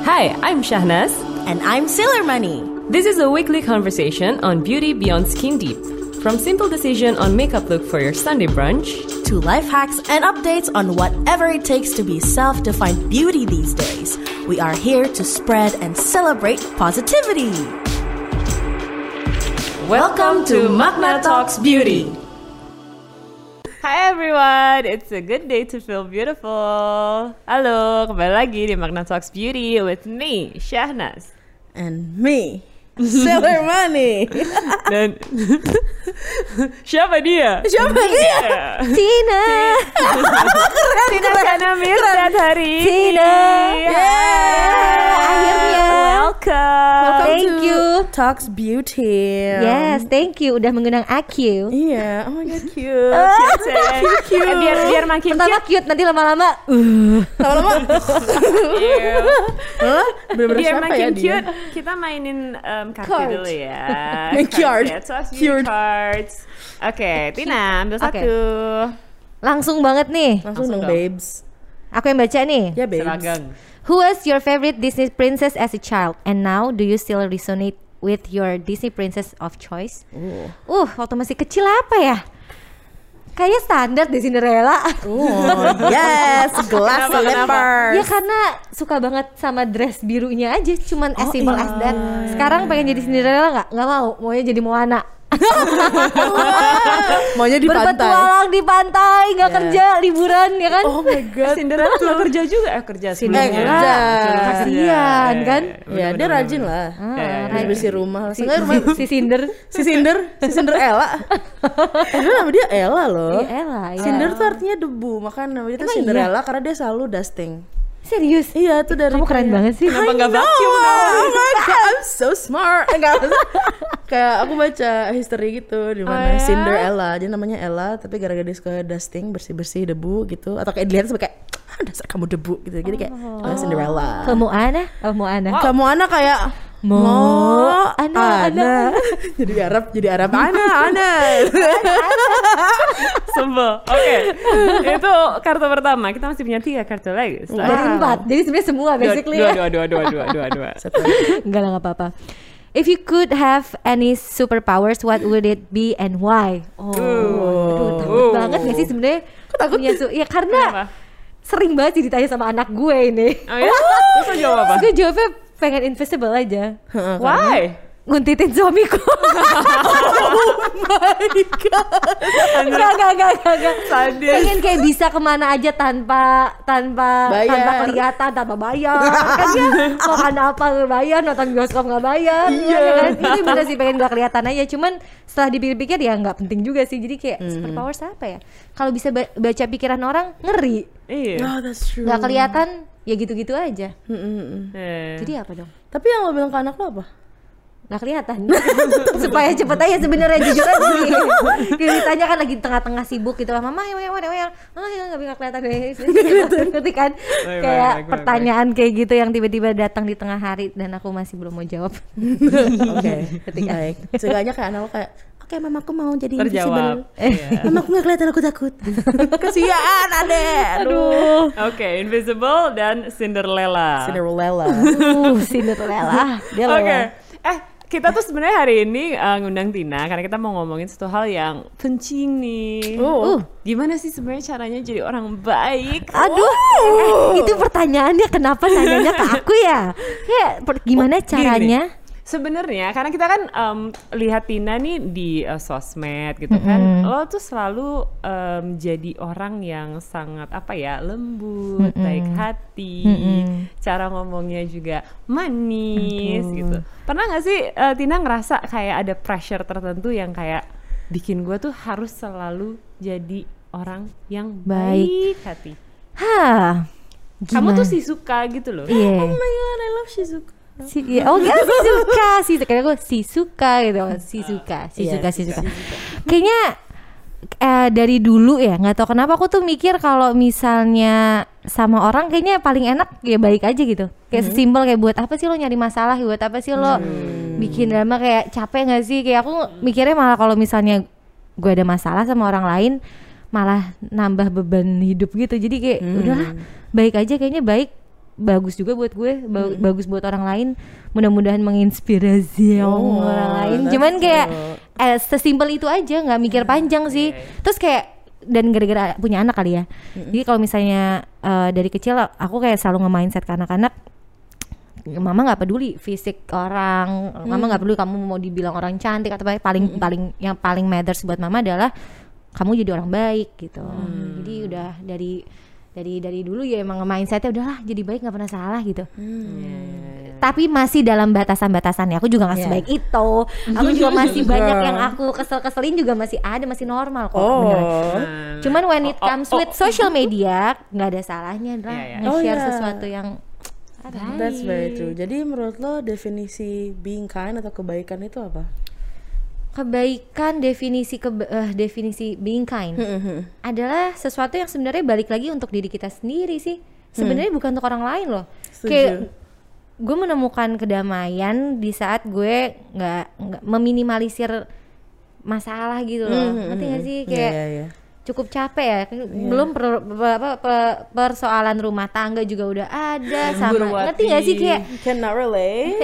Hi, I'm Shahnaz. And I'm Sailor Money. This is a weekly conversation on beauty beyond skin deep. From simple decision on makeup look for your Sunday brunch, to life hacks and updates on whatever it takes to be self-defined beauty these days. We are here to spread and celebrate positivity. welcome to Magna Talks Beauty. Hi everyone, it's a good day to feel beautiful. Halo, kembali lagi di Magna Talks Beauty with me, Shahnaz. And me, Sailor Money. Dan siapa dia? Tina. Tina Kanamir dan hari Tina. Akhirnya welcome. Thank you. Talks Beauty. Yes, thank you udah mengundang aku. Iya, oh my god, cute. Biar makin Pertama cute, nanti lama-lama Lama-lama. Bener-bener biar siapa makin ya dia? cute, kita mainin kartu Card. dulu ya. Main card. Ya, Talks Cute. Beauty cards. Oke, Tina ambil Oke. satu. langsung banget nih. Langsung dong, dong. babes. Aku yang baca nih. Ya, babes. Seragam. Who was your favorite Disney princess as a child? And now do you still resonate with your Disney princess of choice? Waktu masih kecil apa ya? Kayaknya standar di Cinderella. Yes, gelas Kenapa? slippers. Ya karena suka banget sama dress birunya aja, cuman as simple as that. Sekarang pengen jadi Cinderella nggak mau, maunya jadi Moana. Maunya di pantai. Berpetualang di pantai, nggak Yeah. kerja, liburan ya kan? Oh my god. Cinderella nggak kerja juga, kerja sebelumnya. kerja. Kasihan, kan? Ya, dia rajin lah. Bersih rumah. Seenggaknya rumah Si Cinder. si Cinderella. Nama dia Ella loh. Iya, Ella, ya. Cinder tuh artinya debu, makanya namanya tuh Emang Cinderella karena dia selalu dusting. Serius? Iya, tuh dari Kamu keren kayak- banget sih. Kenapa nggak I know, vacuum? Oh my god, I'm so smart. Enggak. Kayak aku baca history gitu di mana Oh, ya? Cinderella, dia namanya Ella, tapi gara-gara dia suka dusting, bersih-bersih debu gitu, atau kayak dilihat sampai kayak dasar kamu debu gitu. Jadi kayak Cinderella. Kamu Ana? Oh, mau Ana. Kamu anak kayak Ana. jadi Arab Ana. Sebel. Oke. Itu kartu pertama. Kita masih punya 3 kartu lagi. Dari 4. Jadi sebenarnya semua basically ya. Dua. Enggak lah, nggak apa-apa. If you could have any superpowers, what would it be and why? Aduh, takut banget gak sih sebenarnya? Punya ya karena Kenapa? sering banget sih ditanya sama anak gue ini. Oh ya? Terus lo jawab apa? Gue jawabnya pengen invisible aja. Why? Nguntitin suamiku. Enggak. Sadis. Pengen kayak bisa kemana aja tanpa Bayar. kelihatan, tanpa bayar. Kan dia makan apa nggak bayar, nonton bioskop nggak bayar. Iya kan? Itu bener sih pengen gak kelihatan aja. Cuman setelah dipikir-pikir ya nggak penting juga sih. Jadi kayak superpower apa ya? Kalau bisa baca pikiran orang ngeri. Iya. Oh, that's true. Nggak kelihatan ya gitu-gitu aja. Eh. Jadi apa dong? Tapi yang lo bilang ke anak lo apa? Nggak kelihatan. Supaya cepet aja sebenarnya, jujur aja sih. Kayak ditanya kan lagi tengah-tengah sibuk gitu lah, mama ya nggak kelihatan deh. Ngerti kan? Kayak pertanyaan kayak gitu yang tiba-tiba datang di tengah hari dan aku masih belum mau jawab. Oke, baik. Seenggaknya kayak anak lo kayak, oke, mamaku mau jadi Terjawab. invisible. Iya. Mamaku nggak kelihatan, aku takut. Kasihan adek. Aduh. Oke, Invisible dan Cinderella. Cinderella. Cinderella. Dia Oke. lelah. Kita tuh sebenarnya hari ini ngundang Tina karena kita mau ngomongin satu hal yang penting nih. Gimana sih sebenarnya caranya jadi orang baik? Aduh, itu pertanyaannya kenapa nanyanya ke aku ya? Ya, gimana caranya? Sebenarnya karena kita kan lihat Tina nih di sosmed gitu kan, lo tuh selalu jadi orang yang sangat apa ya, lembut, baik hati, cara ngomongnya juga manis gitu. Pernah nggak sih Tina ngerasa kayak ada pressure tertentu yang kayak bikin gue tuh harus selalu jadi orang yang baik hati? Hah, Kamu tuh sih suka gitu loh. Iya. Oh my god, I love Shizuka. Oh ya, si suka kayak gue si suka gitu, si suka. Kayaknya dari dulu ya, nggak tahu kenapa aku tuh mikir kalau misalnya sama orang kayaknya paling enak ya baik aja gitu. Kayak sesimpel kayak buat apa sih lo nyari masalah, buat apa sih lo bikin drama, kayak capek nggak sih? Kayak aku mikirnya malah kalau misalnya gue ada masalah sama orang lain malah nambah beban hidup gitu. Jadi kayak udahlah baik aja, kayaknya baik bagus juga buat gue, bagus buat orang lain. Mudah-mudahan menginspirasi orang lain. Cuman kayak sesimpel itu aja, nggak mikir panjang sih. Terus kayak dan gara-gara punya anak kali ya. Jadi kalau misalnya dari kecil aku kayak selalu nge-mindset ke anak-anak, mama nggak peduli fisik orang, mama nggak peduli kamu mau dibilang orang cantik atau yang paling matters buat mama adalah kamu jadi orang baik gitu. Jadi udah dari dulu ya emang mindsetnya udahlah jadi baik nggak pernah salah gitu. Tapi masih dalam batasan-batasannya. Aku juga nggak sebaik itu. Aku juga masih banyak yang aku kesel-keselin juga masih ada, masih normal kok. Cuman when it comes with social media nggak ada salahnya lah nge-share sesuatu yang That's very true. Jadi menurut lo definisi being kind atau kebaikan itu apa? Kebaikan, definisi being kind adalah sesuatu yang sebenarnya balik lagi untuk diri kita sendiri sih. Sebenarnya bukan untuk orang lain loh. Kayak gue menemukan kedamaian di saat gue nggak meminimalisir masalah gitu loh. Ngerti gak sih kayak cukup capek ya. Belum persoalan rumah tangga juga udah ada sama. Ngerti gak sih kayak cannot relate.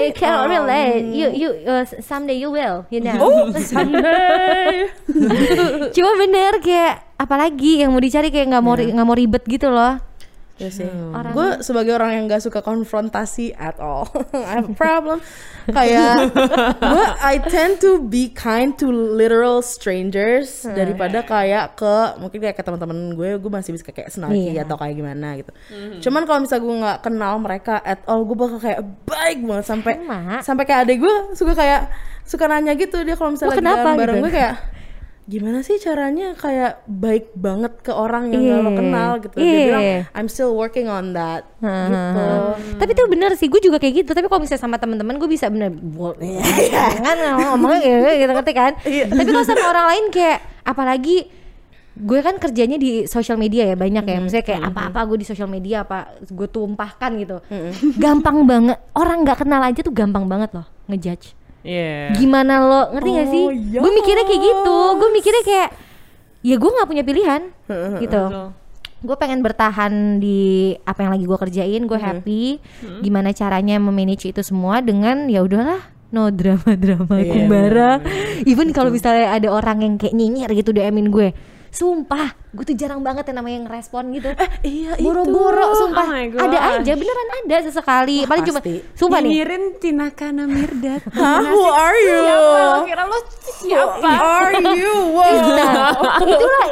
You someday you will, you know. Someday. Cuma bener kayak apalagi yang mau dicari kayak nggak mau ribet gitu loh. Ya sih. Gue sebagai orang yang gak suka konfrontasi at all. I have a problem. Kayak I tend to be kind to literal strangers daripada kayak mungkin kayak ke teman-teman gue masih bisa kayak snarky atau kayak gimana gitu. Cuman kalau misalnya gue nggak kenal mereka at all, gue bakal kayak baik banget sampai kayak adek gue suka nanya gitu, dia kalau misalnya lagi jalan bareng gue kayak gimana sih caranya kayak baik banget ke orang yang gak lo kenal gitu. Dia bilang I'm still working on that gitu. Tapi itu bener sih, gue juga kayak gitu. Tapi kalau misalnya sama teman-teman gue bisa bener jangan ngomongnya gitu, ngerti kan? Tapi kalau sama orang lain kayak apalagi gue kan kerjanya di social media ya banyak ya. Misalnya kayak apa-apa gue di social media apa gue tumpahkan gitu. Gampang banget, orang gak kenal aja tuh gampang banget loh ngejudge. Gimana lo, ngerti gak sih? Gue mikirnya kayak gitu, gue mikirnya kayak ya gue nggak punya pilihan gitu. Gue pengen bertahan di apa yang lagi gue kerjain, gue happy. Gimana caranya memanage itu semua dengan ya udahlah, no drama kumbara. Even kalau misalnya ada orang yang kayak nyinyir gitu DM-in gue, sumpah gue tuh jarang banget yang namanya ngerespon gitu. Boro-boro sumpah. Ada aja, beneran ada sesekali. Paling cuma sumpah nih. Nyinyirin Tinakana Mirdad. Who are you? Kira lo siapa? Who are you? Itulah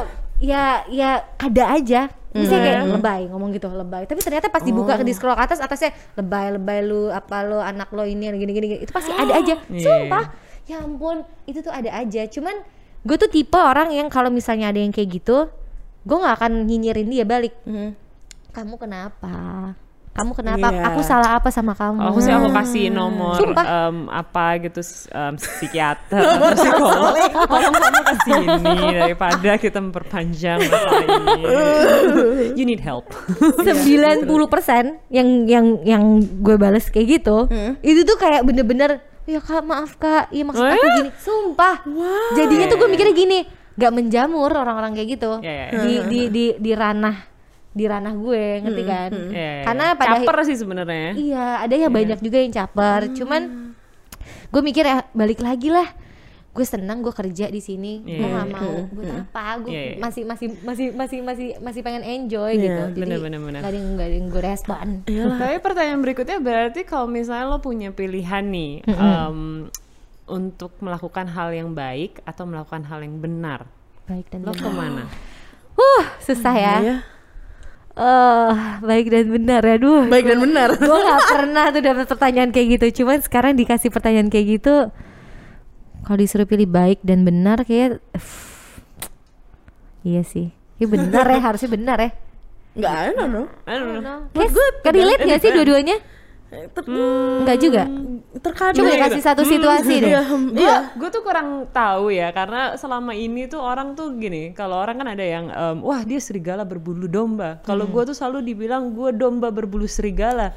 ya ada aja. Misalnya kayak lebay, ngomong gitu lebay. Tapi ternyata pas dibuka di scroll ke atasnya lebay lu, apa lu, anak lo ini gini. Itu pasti ada aja. Sumpah. Ya ampun, itu tuh ada aja. Cuman gue tuh tipe orang yang kalau misalnya ada yang kayak gitu, gue nggak akan nyinyirin dia balik. Kamu kenapa? Aku salah apa sama kamu? Aku kasih nomor apa gitu psikiater atau psikolog. Tolong kamu kesini daripada kita memperpanjang masalah ini. You need help. 90% yang gue balas kayak gitu, itu tuh kayak bener-bener ya kak maaf kak, iya maksud aku gini, sumpah. Jadinya tuh gue mikirnya gini, gak menjamur orang-orang kayak gitu di ranah gue, ngerti kan? Karena pada caper sih sebenarnya. Iya, ada yang banyak juga yang caper. Cuman gue mikir ya balik lagi lah. Gue senang gue kerja di sini, gue nggak mau buat apa, gue masih pengen enjoy gitu. Jadi nggak ada yang gue respon. Tapi pertanyaan berikutnya berarti kalau misalnya lo punya pilihan nih untuk melakukan hal yang baik atau melakukan hal yang benar, baik dan lo kemana? Susah ya. Baik dan benar ya, baik dan benar. Gue nggak pernah tuh dapat pertanyaan kayak gitu. Cuman sekarang dikasih pertanyaan kayak gitu. Kalau disuruh pilih baik dan benar kayak iya sih. Ya benar ya, harusnya benar ya. I don't know. Kayak relate gak sih dua-duanya? Enggak juga. Terkadang coba kasih satu situasi deh. Gue tuh kurang tahu ya, karena selama ini tuh orang tuh gini, kalau orang kan ada yang wah dia serigala berbulu domba. Kalau gue tuh selalu dibilang gue domba berbulu serigala.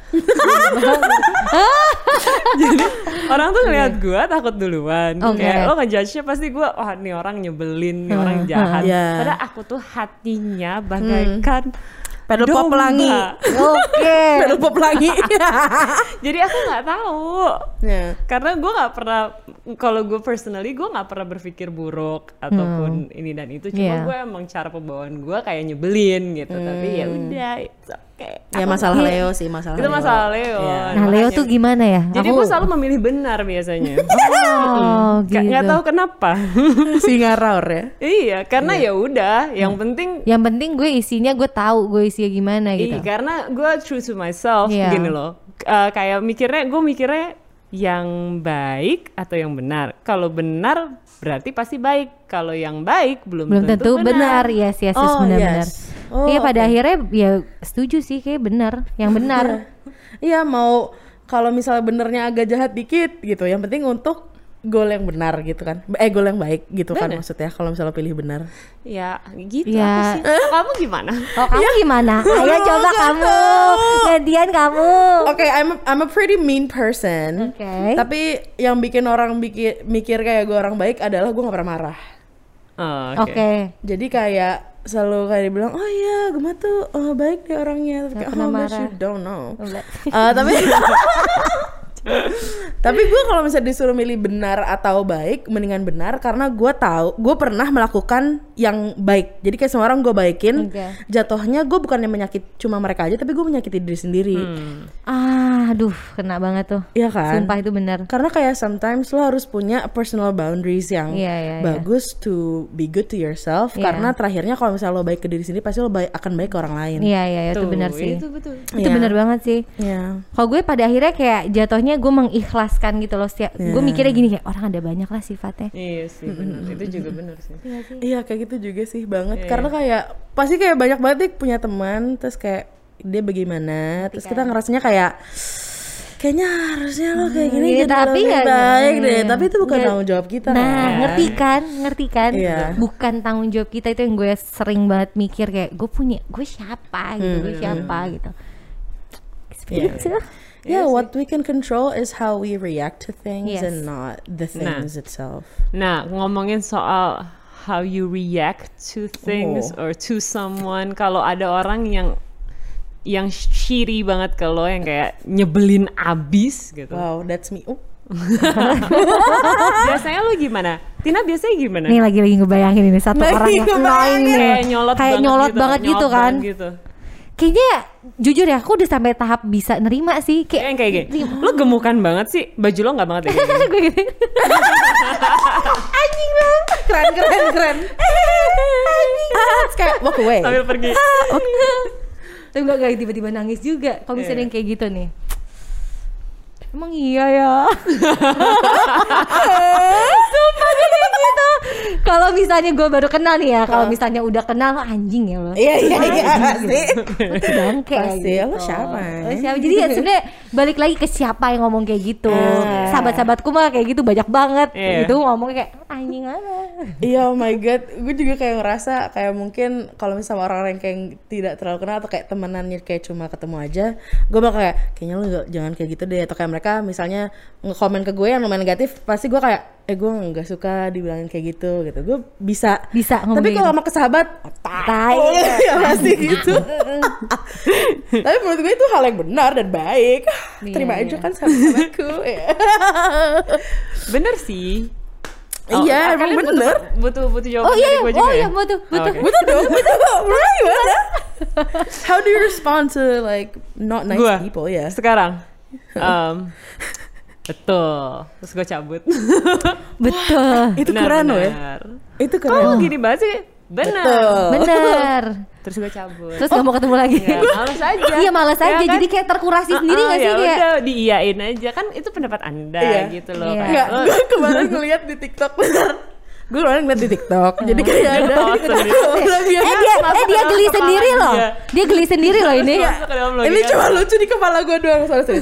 Jadi orang tuh ngeliat gue takut duluan. Kayak lo ngejudge-nya pasti gue, wah nih orang nyebelin, nih orang jahat. Padahal aku tuh hatinya bagaikan Pedal pop pelangi. Oke. Pedal pop pelangi. Jadi aku nggak tahu. Karena gue nggak pernah, kalau gue personally gue nggak pernah berpikir buruk ataupun ini dan itu. Cuma gue emang cara pembawaan gue kayak nyebelin gitu. Tapi ya udah, it's okay. Ya masalah Leo sih, masalah itu Leo. masalah Leo. Nah Leo tuh gimana ya? Jadi gue selalu memilih benar biasanya. Oh gitu. Nggak tahu kenapa. Singa raur ya. Iya, karena ya udah, yang penting gue isinya gue tahu gue isinya gimana gitu. iya, karena gue true to myself gini loh. Kayak gue mikirnya yang baik atau yang benar. Kalau benar berarti pasti baik. Kalau yang baik belum tentu benar. Yes, benar-benar. Iya pada akhirnya ya setuju sih kayak benar, yang benar. Iya mau kalau misalnya benernya agak jahat dikit gitu, yang penting untuk goal yang benar gitu kan, goal yang baik gitu kan maksudnya kalau misalnya pilih benar. Ya gitu ya. Aku sih. Kamu gimana? Kamu gimana? Ayo coba kamu, gantian kamu. Oke, I'm a pretty mean person. Tapi yang bikin orang mikir kayak gue orang baik adalah gue nggak pernah marah. Oke. Jadi kayak selalu kayak dibilang, oh iya Gemma tuh baik deh orangnya. Kayak, oh but you don't know. Tapi gue kalau misalnya disuruh milih benar atau baik, mendingan benar karena gue tahu gue pernah melakukan yang baik. Jadi kayak semua orang gue baikin, jatuhnya gue bukannya menyakiti cuma mereka aja, tapi gue menyakiti diri sendiri. Aduh, kena banget tuh. Iya kan? Sumpah itu benar. Karena kayak sometimes lo harus punya personal boundaries yang bagus to be good to yourself. Karena terakhirnya kalau misalnya lo baik ke diri sendiri, pasti lo akan baik ke orang lain. Iya, itu benar sih. Itu betul. Itu benar banget sih. Kalau gue pada akhirnya kayak jatuhnya gue mengikhlaskan gitu loh. Gue mikirnya gini kayak orang ada banyak lah sifatnya. Iya sih benar. Itu juga benar sih. Iya kayak gitu juga sih banget. Karena kayak pasti kayak banyak banget nih punya teman, terus kayak dia bagaimana, terus kita ngerasanya kayak kayaknya harusnya lo kayak gini jadi tapi lebih baik deh. Tapi itu bukan tanggung jawab kita. Nah, ngerti kan? Bukan tanggung jawab kita. Itu yang gue sering banget mikir kayak gue siapa gitu. Yeah, what we can control is how we react to things and not the things itself. Nah, ngomongin soal how you react to things or to someone, kalau ada orang yang shitty banget ke lo, yang kayak nyebelin abis gitu. Wow, that's me. Biasanya lo gimana? Tina biasanya gimana? Nih lagi ngebayangin ini satu orang yang annoying nih. Kayak nyolot banget gitu kan. Kayaknya jujur ya aku udah sampai tahap bisa nerima sih kayak gini. Lo gemukan banget sih, baju lo nggak banget ya gue gini. Anjing lo keren anjing kayak walk away sambil pergi. Tapi nggak tiba-tiba nangis juga kalau misalnya yang kayak gitu nih. Emang iya ya. Sumpah kayak gitu. Kalau misalnya gue baru kenal nih ya, kalau misalnya udah kenal lo anjing ya lo. Iya sih. Itu bangke pasti gitu. Lo siapa? Jadi ya sebenarnya balik lagi ke siapa yang ngomong kayak gitu. Sahabat-sahabatku mah kayak gitu banyak banget. Itu ngomong kayak anjing apa. Iya, oh my god, gue juga kayak ngerasa kayak mungkin kalau misalnya orang-orang yang kayak tidak terlalu kenal atau kayak temenannya kayak cuma ketemu aja, gue bakal kayak kayaknya lo jangan kayak gitu deh. Atau kayak mereka misalnya nge-komen ke gue yang lumayan negatif, pasti gue kayak gue nggak suka dibilangin kayak gitu. Gue bisa ngomong. Tapi kalau sama ke sahabat ya pasti gitu. Tapi menurut gue itu hal yang benar dan baik. Terima aja kan sahabatku. Bener sih. Iya, emang bener. Butuh jawaban dari gue juga ya? Butuh dong. Gimana? How do you respond to like not nice people? Ya. Sekarang, betul. Terus gue cabut. Betul. Itu keren loh ya. Itu keren. Oh gini banget sih. Bener. Terus gue cabut. Terus gak mau ketemu lagi. Ya, males aja. Iya males aja. Kan? Jadi kayak terkurasi sendiri gak sih? Ya udah diiyain aja. Kan itu pendapat anda gitu loh. Enggak, gue kemarin ngeliat di TikTok. Gue kemarin ngeliat di TikTok. Jadi kayak ada dia geli sendiri loh. Dia geli sendiri loh ini. Ini cuma lucu di kepala gue doang. Sorry.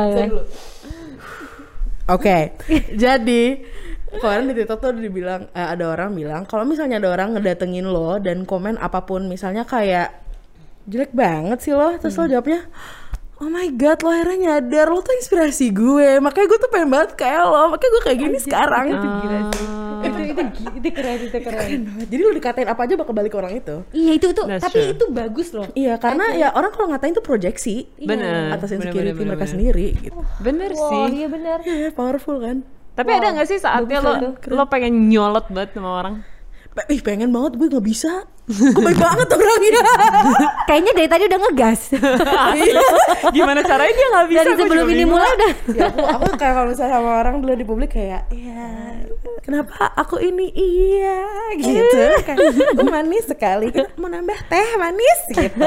Oke, jadi kemarin di TikTok tuh dibilang ada orang bilang kalau misalnya ada orang ngedatengin lo dan komen apapun, misalnya kayak jelek banget sih lo, terus lo jawabnya oh my god, lo akhirnya nyadar lo tuh inspirasi gue, makanya gue tuh pengen banget kayak lo, makanya gue kayak gini sekarang. Itu gila sih. itu keren. Jadi lu dikatain apa aja bakal balik ke orang itu. Iya itu That's tapi true. itu bagus loh. Iya, karena ya orang kalau ngatain tuh proyeksi Bener, atas bener, insecurity bener, mereka bener. sendiri gitu. Bener Wah, sih. iya benar. Ya, powerful kan. Tapi ada nggak sih saatnya lo pengen nyolot banget sama orang? Ih, pengen banget, gue nggak bisa. Gue baik banget orangnya. Kayaknya dari tadi udah ngegas. Gimana caranya dia nggak bisa? Dari gua sebelum juga ini bingung. mulai udah. Ya aku kayak kalau misalnya sama orang dulu di publik kayak ya kenapa aku ini iya gitu kan manis sekali mau nambah teh manis gitu.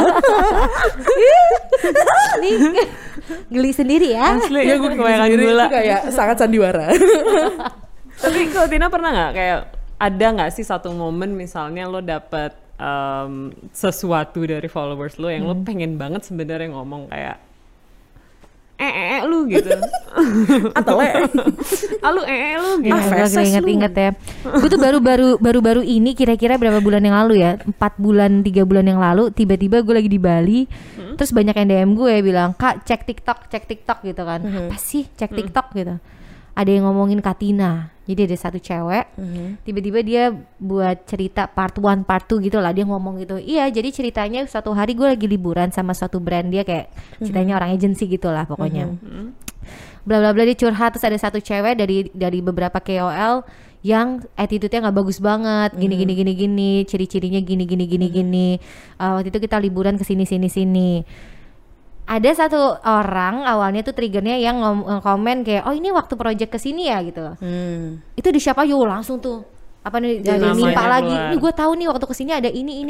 Nih geli sendiri ya. Asli ya gue kebanyakan Sendiri gula. itu kayak sangat sandiwara. Tapi kalau Tina pernah nggak kayak ada nggak sih satu momen misalnya lo dapet sesuatu dari followers lo yang lo pengen banget sebenarnya ngomong kayak lu gitu. Atau lu lu gitu. Ya, feses gue inget-inget ya. Gue tuh baru ini kira-kira berapa bulan yang lalu ya, 4 bulan 3 bulan yang lalu tiba-tiba gue lagi di Bali, terus banyak yang DM gue bilang Kak cek TikTok gitu kan. Apa sih cek TikTok gitu? Ada yang ngomongin Katina. Jadi ada satu cewek, tiba-tiba dia buat cerita part 1, part 2 gitu lah. Dia ngomong gitu, iya jadi ceritanya suatu hari gue lagi liburan sama suatu brand. Dia kayak ceritanya orang agency gitu lah pokoknya. Bla bla bla, dia curhat. Terus ada satu cewek dari beberapa KOL yang attitude-nya gak bagus banget, gini, ciri-cirinya gini. Waktu itu kita liburan ke sini. Ada satu orang awalnya tuh triggernya yang komen kayak oh ini waktu project kesini ya gitu. Itu di siapa yo langsung tuh apa nih dari namanya nimpa lagi. keluar. Ini gue tahu nih waktu kesini ada ini.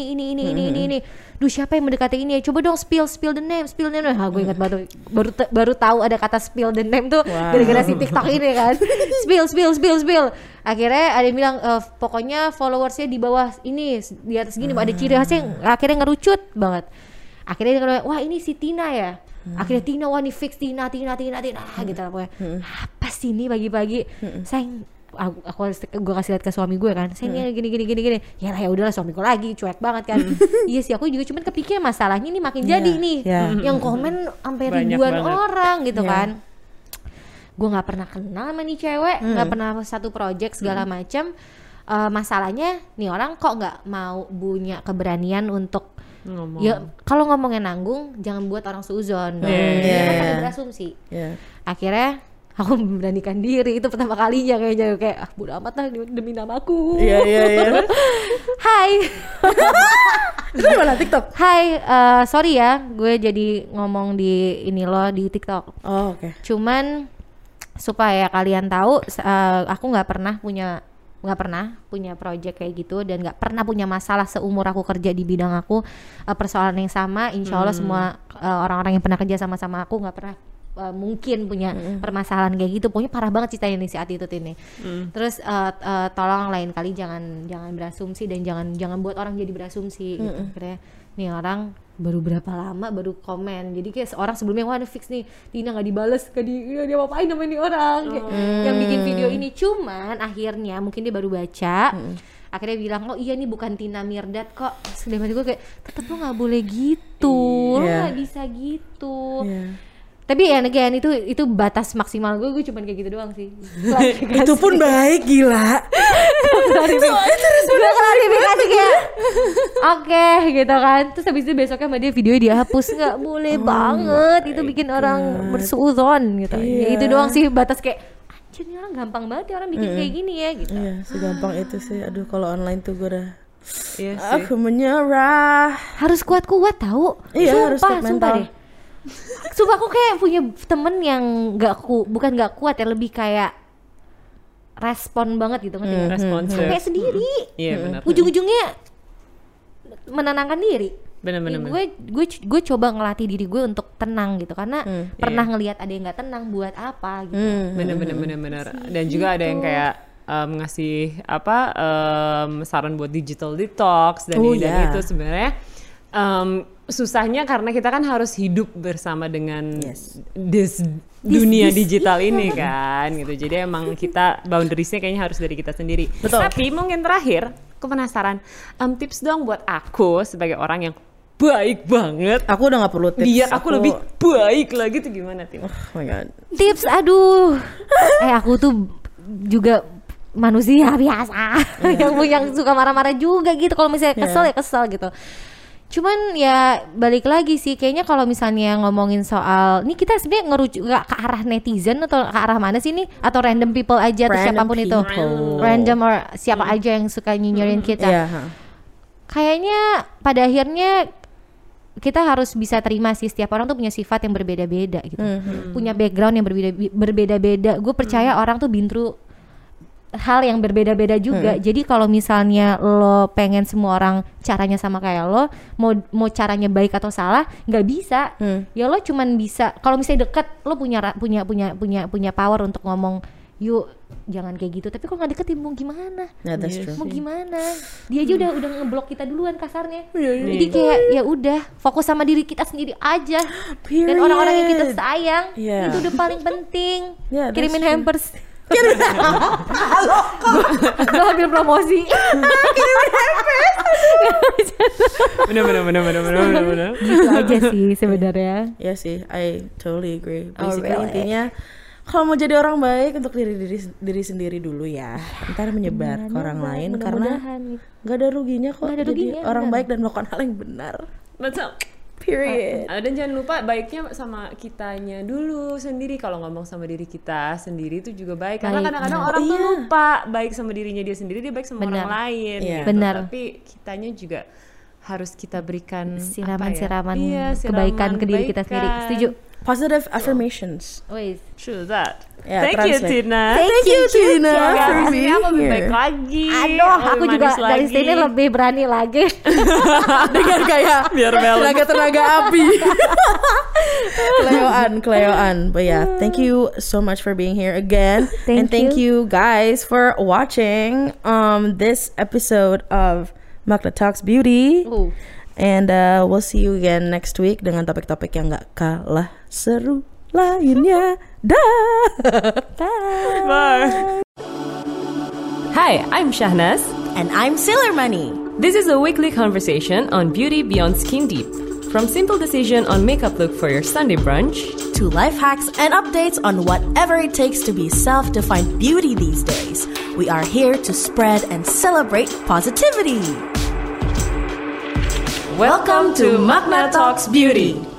Duh siapa yang mendekati ini ya? Coba dong spill the name. Ha gue ingat baru tahu ada kata spill the name tuh gara-gara si TikTok ini kan. Spill. Akhirnya ada yang bilang pokoknya followersnya di bawah ini di atas gini ada ciri khasnya yang akhirnya ngerucut banget. Akhirnya dia bilang, wah ini si Tina ya. Akhirnya Tina, wah ini fix Tina gitu lah pokoknya. Apa sih ini pagi-pagi? Sayang, gue kasih lihat ke suami gue kan. Sayang gini. Ya lah ya udahlah suamiku lagi cuek banget kan. Iya sih aku juga cuman kepikir masalahnya ini makin jadi nih. Yang komen sampai Banyak ribuan banget. orang gitu kan. Gue nggak pernah kenal sama nih cewek, nggak pernah satu project segala macam. Masalahnya nih orang kok nggak mau punya keberanian untuk Ngomong. ya kalau ngomongnya nanggung jangan buat orang seuzon. Dia kan pada berasumsi. Akhirnya aku memberanikan diri itu pertama kalinya kayaknya kayak bodo amat lah demi namaku. Iya. Hai. Itu di mana TikTok? Hai, sorry ya gue jadi ngomong di ini loh di TikTok. Oh, oke. Cuman supaya kalian tahu aku nggak pernah punya project kayak gitu dan nggak pernah punya masalah seumur aku kerja di bidang aku. Persoalan yang sama insya Allah semua orang-orang yang pernah kerja sama aku nggak pernah mungkin punya permasalahan kayak gitu. Pokoknya parah banget ceritanya nih si attitude ini. Terus tolong lain kali jangan berasumsi dan jangan buat orang jadi berasumsi gitu. Akhirnya nih orang baru berapa lama baru komen, jadi kayak orang sebelumnya wah fix nih Tina nggak dibales, dia ngapain sama ini orang yang bikin video ini. Cuman akhirnya mungkin dia baru baca, akhirnya bilang oh iya nih bukan Tina Mirdad kok. Sedangkan gue kayak tetep lo nggak boleh gitu, lo nggak bisa gitu. Tapi ya again itu batas maksimal gue cuman kayak gitu doang sih. Itu pun baik gila. Gue klarifikasi kayak oke gitu kan. Terus habis itu besoknya sama dia videonya dihapus. Nggak boleh banget, itu bikin orang bersuuzon gitu. Ya itu doang sih batas kayak anjir ini orang gampang banget ya orang bikin kayak gini ya gitu. Iya, segampang itu sih. Aduh, kalau online tuh gue udah Iya sih. aku menyerah. Harus kuat-kuat tahu. Iya, harus kuat mental. Deh. Sumpah aku kayak punya temen yang bukan nggak kuat ya, lebih kayak respon banget gitu ngerti nggak? Responsif. Kayak sendiri. Iya benar. Ujung-ujungnya menenangkan diri. Benar. Gue coba ngelatih diri gue untuk tenang gitu karena pernah ngelihat ada yang nggak tenang buat apa gitu. Benar. Dan juga ada yang kayak ngasih saran buat digital detox dan dan itu sebenarnya susahnya karena kita kan harus hidup bersama dengan dunia digital ini kan gitu. Jadi emang kita boundariesnya kayaknya harus dari kita sendiri. Betul. Tapi mungkin terakhir aku penasaran tips dong buat aku sebagai orang yang baik banget. Aku udah gak perlu tips. Biar aku lebih baik lagi tuh gimana Tim? Oh my god. Tips aduh. Aku tuh juga manusia biasa yang suka marah-marah juga gitu. Kalau misalnya kesel ya kesel gitu. Cuman ya balik lagi sih, kayaknya kalau misalnya ngomongin soal ini, kita sebenarnya ngerujuk gak ke arah netizen atau ke arah mana sih nih, atau random people aja atau siapapun itu, random or siapa aja yang suka nyinyirin kita. Kayaknya pada akhirnya kita harus bisa terima sih, setiap orang tuh punya sifat yang berbeda-beda gitu, punya background yang berbeda-beda. Gue percaya orang tuh been through hal yang berbeda-beda juga. Jadi kalau misalnya lo pengen semua orang caranya sama kayak lo, mau caranya baik atau salah nggak bisa. Ya lo cuman bisa kalau misalnya deket, lo punya power untuk ngomong, yuk jangan kayak gitu. Tapi kalau nggak deket, mau gimana? Mau gimana? Dia aja udah ngeblok kita duluan kasarnya. Jadi kayak ya udah fokus sama diri kita sendiri aja. Dan orang-orang yang kita sayang itu udah paling penting. Kirimin hampers. Gue ambil promosi. Bener. Gitu aja sih sebenarnya. Ya sih, I totally agree. Basically intinya kalau mau jadi orang baik, untuk diri sendiri dulu ya. Ntar menyebar ke orang lain, karena nggak ada ruginya kok jadi orang baik dan melakukan hal yang benar. Betul. Period. Dan jangan lupa baiknya sama kitanya dulu sendiri. Kalau ngomong sama diri kita sendiri itu juga baik. Karena kadang-kadang orang tuh lupa baik sama dirinya dia sendiri, dia baik sama orang lain. Benar. Tapi kitanya juga harus kita berikan siraman kebaikan ke diri kita sendiri. Setuju. Positive affirmations. True that. Thank you Tina. Thank you Tina. For being aku lebih baik lagi. Aduh, aku juga dari sini lebih berani lagi. Dengan kayak tenaga api. Kleoan. But yeah, thank you so much for being here again. Thank you guys for watching this episode of Magna Talks Beauty. And we'll see you again next week dengan topik-topik yang gak kalah seru lainnya. Bye. Hi, I'm Shahnaz. And I'm Sailor Money. This is a weekly conversation on beauty beyond skin deep. From simple decision on makeup look for your Sunday brunch, to life hacks and updates on whatever it takes to be self-defined beauty these days. We are here to spread and celebrate positivity. welcome to Magna Talks Beauty.